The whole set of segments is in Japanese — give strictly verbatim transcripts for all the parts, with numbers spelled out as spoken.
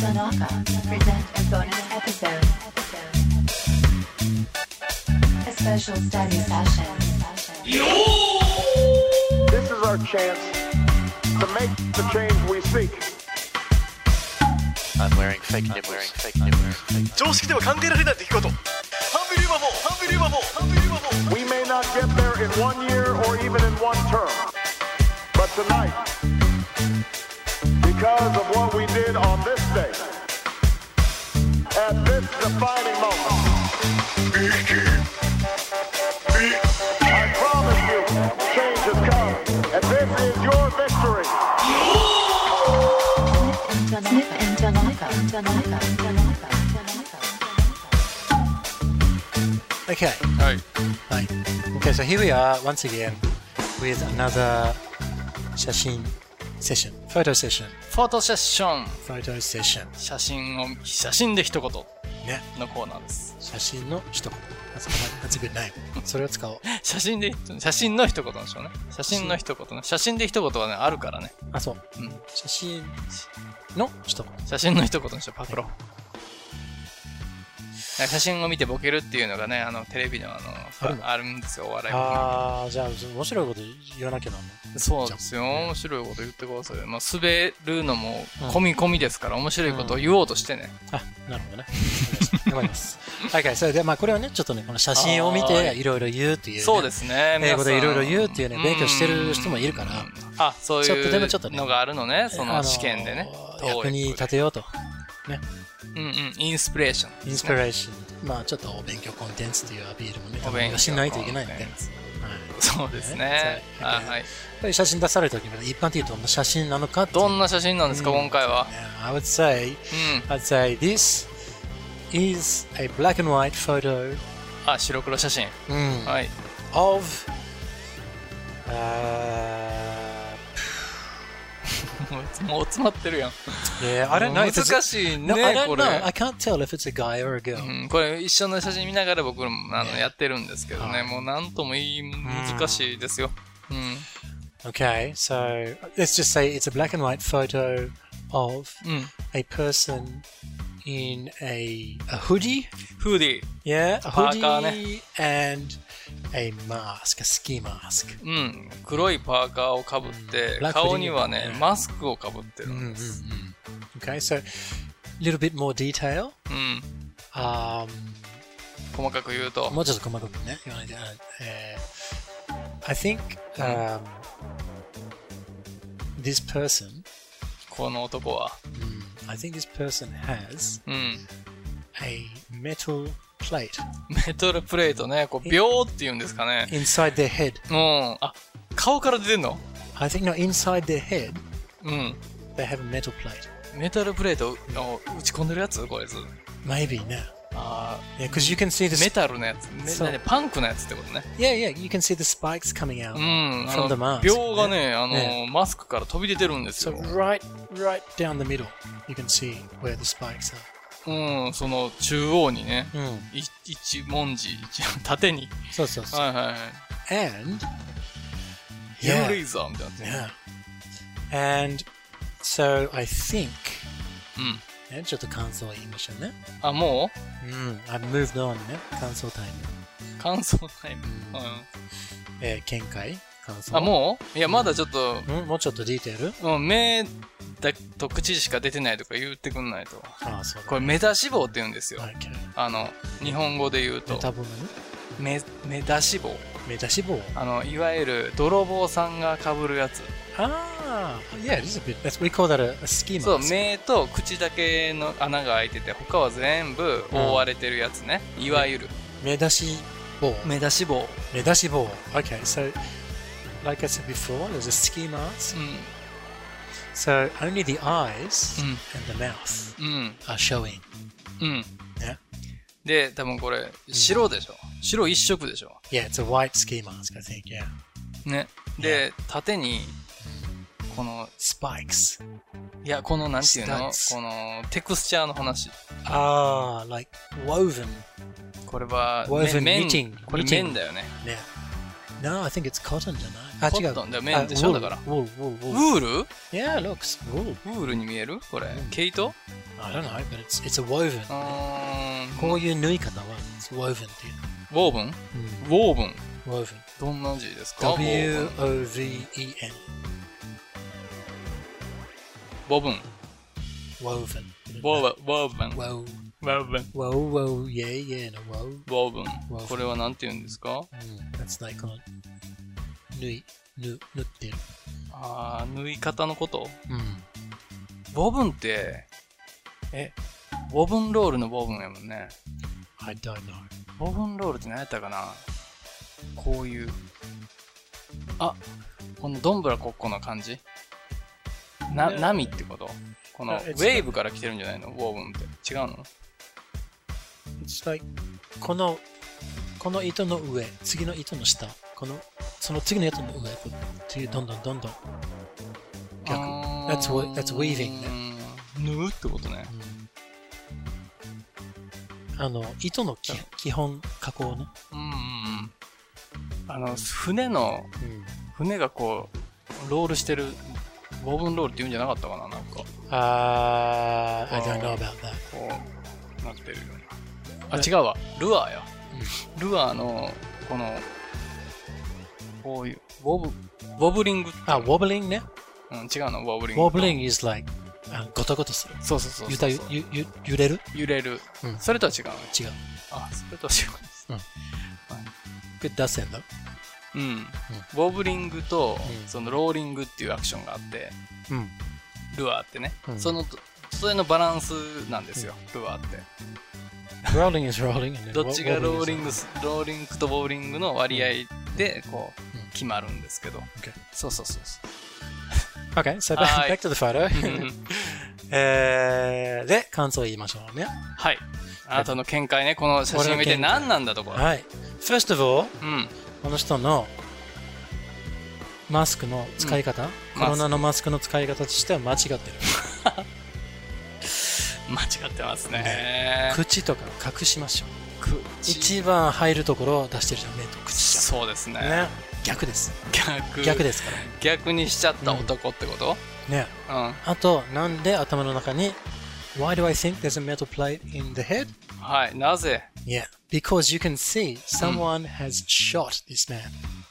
Tanaka present a bonus episode. A special study session. This is our chance to make the change we seek. I'm wearing fake nipples. Fake nipples. 常識では考えられない出来事。Unbelievable! Unbelievable! Unbelievable! We may not get there in one year or even in one term, but tonight, because of what we did on this day, at this defining moment, I promise you, change has come, and this is your victory. Snip and Tanaka. Tanaka. Tanaka. Okay. はい。 はい。Okay, so here we are once again with another 写真 session, photo session, フォトセッション。 photo session. 写真を、写真で一言ね。 のコーナーです。 写真の一言。That's a, that's a good name. それを使おう。 写真で、写真の一言でしょうね。写真の一言ね。写真で一言はね、あるからね。 あ、そう。 うん。 写真の一言。 写真の一言にしよう、パクロ。写真を見てボケるっていうのがね、あの、テレビのあの、 あるのあるんですよ、お笑いも。 あー、じゃあ、面白いこと言わなきゃなんの。 そうですよ。面白いこと言ってください。まあ、滑るのも込み込みですから、面白いことを言おうとしてね。 あ、なるほどね。頑張ります。Okay, それで、まあ、これはね、ちょっとね、この写真を見て、いろいろ言うっていう、ね。 そうですね。 英語でいろいろ言うっていうね、勉強してる人もいるから。 あ、そうちょっとでもちょっとねいうのがあるのね、その試験でね。 役に立てようと。ね。 うんうん、インスピレーション。 インスピレーション。まあ、ちょっとお勉強コンテンツっていうアピールもね、 お勉強しないといけないんで。はい、 そうですね。あ、はい。 これ写真出された時に、一般的にどんな写真なのかって。 どんな写真なんですか、今回は。 I would say, I'd say this is a black and white photo. あ、白黒写真。はい。 of, uh, もう詰まってるやん。 Yeah, I don't know. 難しいね、 no, I don't これ。 know. I can't tell if it's a guy or a girl. うん、これ一緒の写真見ながら僕もあのやってるんですけどね、もうなんともいい難しいですよ。うん。 Okay, so let's just say it's a black and white photo of a person in a, a hoodie. フーディー。 Yeah, a パーカーね。 hoodie and a mask, a ski mask. うん、黒いパーカーをかぶって、顔にはね、マスクをかぶってるんです。 Okay, so a little bit more detail. うん。 Um, 細かく言うと。 もうちょっと細かくね、言わないで。I think um, this person, この男は、 I think this person has うん、 a metal plate. メタルプレートね、こう、秒って言うんですかね。 inside their head. うん。あ、顔から出てんの？ I think no, inside their head, うん。 they have a metal plate. メタルプレートを打ち込んでるやつこいつ。 Maybe, no. ああ、yeah, because you can see the メタルのやつ。ね、パンクのやつってことね。 Yeah, yeah, you can see the spikes coming out うん、 from the mask. 秒がね、あの、 ね、 マスクから飛び出てるんですよ。 So right, right down the middle, you can see where the spikes are. うん、その中央にね、 うん、 い一文字、一縦に。 そうそうそう。 はいはいはい。 And, ヘルレーザーみたいな。 Yeah. And so I think, うん。 ね、ちょっと感想を言いましょうね。 あ、もううん、I've moved on ね。感想タイム。 感想タイム。うん。 えー、見解感想。 あ、もういや、まだちょっと。 うん、もうちょっとディテールうん、目だと口しか出てないとか言ってくんないと。 ああ、そうだ、ね。 これメタ脂肪って言うんですよ。 Okay. あの、日本語で言うと。 メタボメ、メタ脂肪。 メタ脂肪あの、いわゆる泥棒さんが被るやつ。 ああ、yeah, this is a bit, that's, we call that a, a ski mask. そう、目と口だけの穴が開いてて、他は全部覆われてるやつね。いわゆる。 目出し棒。 目出し棒。 目出し棒。Okay, so, like I said before, there's a ski mask. うん。 So, only the eyes うん、 and the mouth うん、 are showing. うん。 Yeah? で、多分これ、白でしょ。白一色でしょ。 Yeah, it's a white ski mask, I think, yeah. ね。で、縦に、この、 spikes. いや、この、なんていうの Studs. この、テクスチャーの話。 ああ、like woven. これは、 woven 麺 knitting. これ麺だよね。 ね。 No, I think it's cotton じゃない。あ、違う。 コットンだよ、綿でしょ、だから。 wool, wool, wool. ウール Yeah, it looks wool. ウールに見えるこれ。毛糸 I don't know, but it's, it's a woven. うーん。 こういう縫い方は it's woven っていう。 ウォーブンウォーブン woven. どんな字ですか W O V E N. ボブン woven. ボーボーブン Wow. ボーブン Wow, wow, yeah, yeah, no, wow. ボーブン Woven これはなんて言うんですか That's like この縫い、縫、縫ってる。 あー、縫い方のことうん。 ボブンって、え、ボブンロールのボブンやもんね。 I don't know. ボブンロールって何やったかなこういう。あ、このどんぶらこっこの感じな、波ってことこのウェーブから来てるんじゃないのボブンって。違うの It's like この、この糸の上、次の糸の下、この、その次の糸の上、こうっていうどんどんどんどん逆。That's, what, that's weaving ね。 縫うってことね。 あの、糸のき基本加工ね。 うんうんうん。あの、船の、船がこう、ロールしてる、ボブンロールって言うんじゃなかったかななんか。 あー、I don't know about that. こう、なってるような。あ、違うわ。ルアーや。ルアーの、この、こういう、ボブ、ボブリングって。 あ、wobbling ね。 うん、違うの、ボブリング。 wobbling is like、ゴトゴトする。 そうそうそう。 ゆたゆ、ゆ、ゆ、揺れる揺れる。 うん。 それとは違う。 違う。 あ、それとは違う。 うん。Good 脱線だ。 うん。ボブリングと、そのローリングっていうアクションがあって、 うん。 ルアーってね。その、それのバランスなんですよ、ルアーって。 rolling is rolling. どっちがローリング、ローリングとボブリングの割合で、こう、決まるんですけど。そうそうそうそう。 Okay, so back, back to the photo. えー、で、感想を言いましょうね。 はい。あなたの見解ね、この写真を見て何なんだところ。 はい。First of all、 うん、 この人のマスクの使い方、うん、コロナのマスクの使い方としては間違ってる。 間違ってますね。ね口とか隠しましょう。一番入るところを出してるじゃん、目と口じゃん。 そうですね。 ね逆です。 逆。 逆ですから。 逆にしちゃった男ってこと、 うん、ね、うん。あと、なんで頭の中に Why do I think there's a metal plate in the head? はい、なぜ Yeah, because you can see someone has shot this man.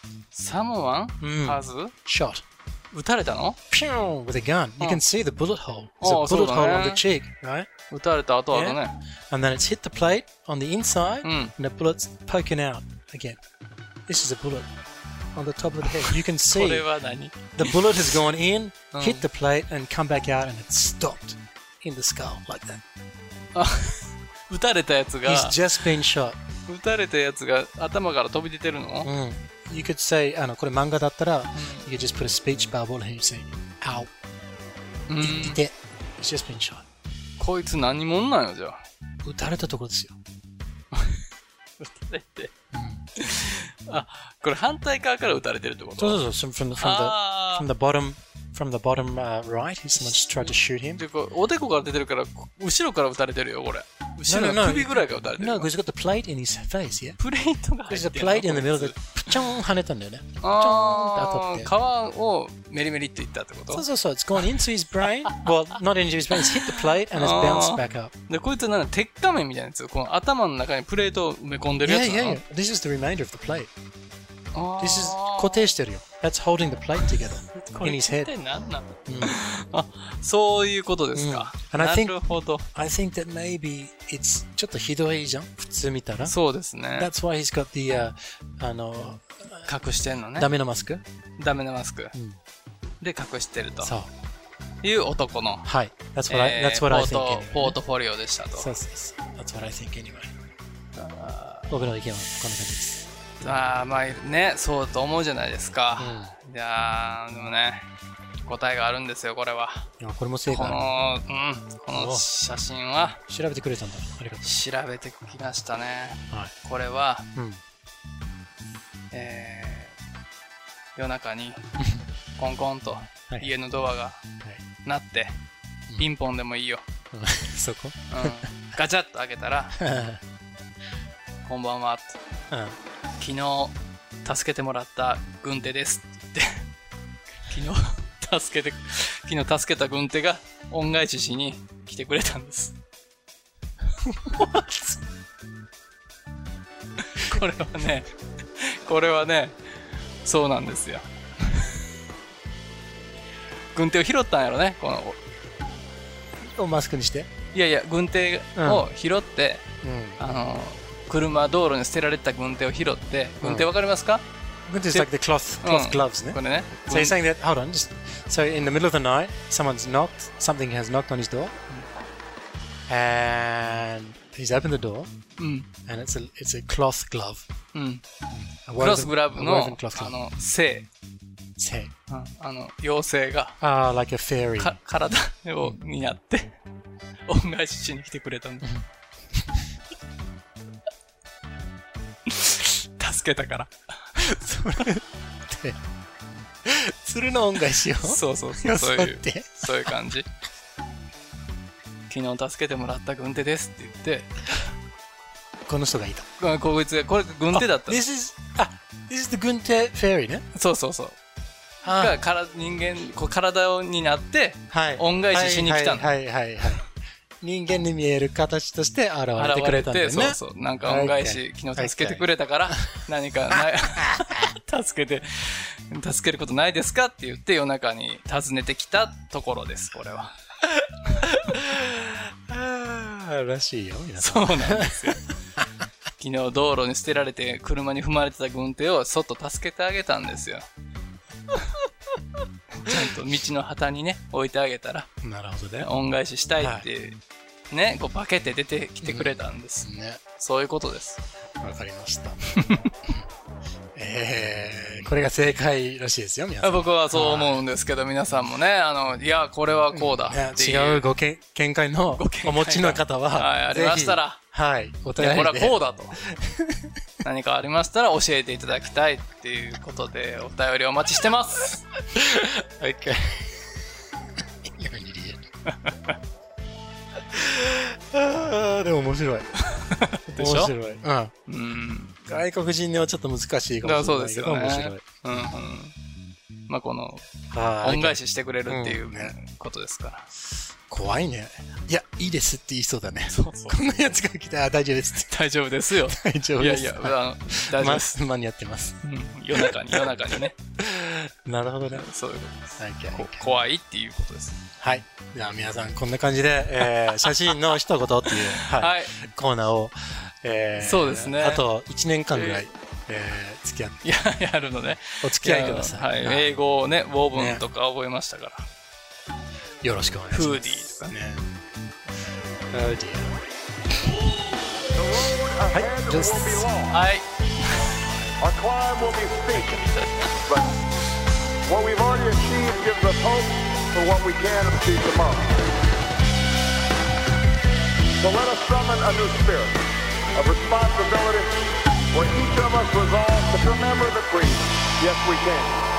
Someone has shot. 撃たれたの Pew! With a gun. You can see the bullet hole. There's a bullet hole on the cheek, right? 撃たれた後はね。 And then it's hit the plate on the inside, and the bullet's poking out again. This is a bullet on the top of the head. You can see the bullet has gone in, hit the plate, and come back out, and it's stopped in the skull like that. 撃たれたやつが He's just been shot. 撃たれたやつが頭から飛び出てるの、 うん、You could say, あのこれ漫画だったら、うん、You could just put a speech bubble and you say, Ow. うん、 いて He's just been shot. こいつ何者なんよじゃあ。 撃たれたところですよ。 撃たれて。あ、これ反対側から撃たれてるってこと？ そうそうそう。From the, from the, from the bottom, from the bottom、uh, right, someone just tried to shoot him. でこおでこから出てるから、後ろから撃たれてるよ、これ。後ろの首ぐらいから撃たれてる。 No, because he's got the plate in his face, yeah? プレートが入ってる。 There's a plate in the middle that プチョン跳ねたんだよね。 あー、皮をメリメリっていったってこと？ そうそうそう。It's gone into his brain. Well, not into his brain. It's hit the plate and it's bounced back up. で、こいつなんだ、鉄仮面みたいなやつ。この頭の中にプレートを埋め込んでるやつなの？ Yeah, yeah, yeah. This is the remainder of the plate. This is 固定してるよ。That's holding the plate together in his head. 何なの？あ、そういうことですか。なるほど。 I think that maybe it's ちょっとひどいじゃん。普通見たら。 そうですね。 That's why he's got the、uh, あの隠してんのね。 ダメのマスク。 ダメのマスク。で隠してると。そう。いう男の。 はい。That's what I, that's what I think anyway. ポートフォリオでしたと。 そうそうそう。That's what I think anyway. 僕の意見はこんな感じです。 ああ、まあね、そうと思うじゃないですか。うん、いやー、でもね、答えがあるんですよ、これは。 いや、これも正解。 この、うん、この写真は。 調べてくれたんだ。ありがとう。 調べてきましたね。 はい、 これは、 うん、 えー、夜中にコンコンと家のドアが鳴って、はい、ピンポンでもいいよ。 うん、そこ、 うん、ガチャッと開けたら、こんばんはって。 うん、 昨日助けてもらった軍手ですって言って昨日助けて昨日助けた軍手が恩返ししに来てくれたんです。これはねこれはねそうなんですよ。軍手を拾ったんやろね、このをマスクにして。 いやいや、軍手を拾って、 うん、 あの車道路に捨てられた軍手を拾って、軍手わかりますか？ 軍手 is like the cloth cloth gloves ね。 これね。 So you're saying that, hold on, just so in the middle of the night, someone's knocked, something has knocked on his door, and he's opened the door, and it's a it's a cloth glove. うん。クロスグラブのあの精。 精。 あの妖精が。 ああ、like a fairy。 か体をになって恩返ししに来てくれたんだ。助けたから。 それって鶴の恩返しを。 そうそうそう。そういうそういう感じ。昨日助けてもらった軍手ですって言って。 この人がいた。 こいつがこれ軍手だった。 This is あ This is the 軍手 fairy ね。 そうそうそう。がから人間こう体になって、はい、恩返ししに来たの。 はいはいはいはい。人間に見える形として現れてくれたんだよね。 そうそう。なんか恩返し、昨日助けてくれたから何かない助けて助けることないですかって言って夜中に訪ねてきたところです。これは。 あらしいよ皆さん。そうなんですよ。昨日道路に捨てられて車に踏まれてた軍手をそっと助けてあげたんですよ。ちゃんと道の旗にね置いてあげたら、 なるほどね、 恩返ししたいって、はい、ねこう化けて出てきてくれたんです、うんね、そういうことです。 わかりました。えー、これが正解らしいですよ皆さん。 僕はそう思うんですけど、皆さんもねあのいやこれはこうだっていう、 ね、違うご見解のお持ちの方は、 はい、ありましたら、 はい、お便りでこれはこうだと何かありましたら教えていただきたいっていうことでお便りお待ちしてます。 OK あでも面白いでしょ。 面白い、うん、うん、外国人にはちょっと難しいかもしれないけど、面白い、うんうん、 まあこの恩返ししてくれるっていうことですから、うんね、 怖いね。いや、いいですって言いそうだね。そうそう。こんなやつが来たら大丈夫ですって。 大丈夫ですよ。 大丈夫です。 いやいや、あの大丈夫です。 間に合ってます。 うん、夜中に、夜中にね。 なるほどね。 そういうことです。こ怖いっていうことです。 はい。じゃあ皆さん、こんな感じで、えー、写真の一言っていう、はい、はい、コーナーを、えー、 そうですね。 あといちねんかんぐらい、えーえー、付き合って。 いや、やるのね。 お付き合いください。 はい。英語をね、ウォー文とか覚えましたから。ね、 よろしくお願いします。 フーディーとかね。 Oh dear. はい、just はい。 Our climb will be steep, but what we've already achieved gives us hope for what we can achieve tomorrow. So let us summon a new spirit of responsibility where each of us resolves to remember the creed, yes we can.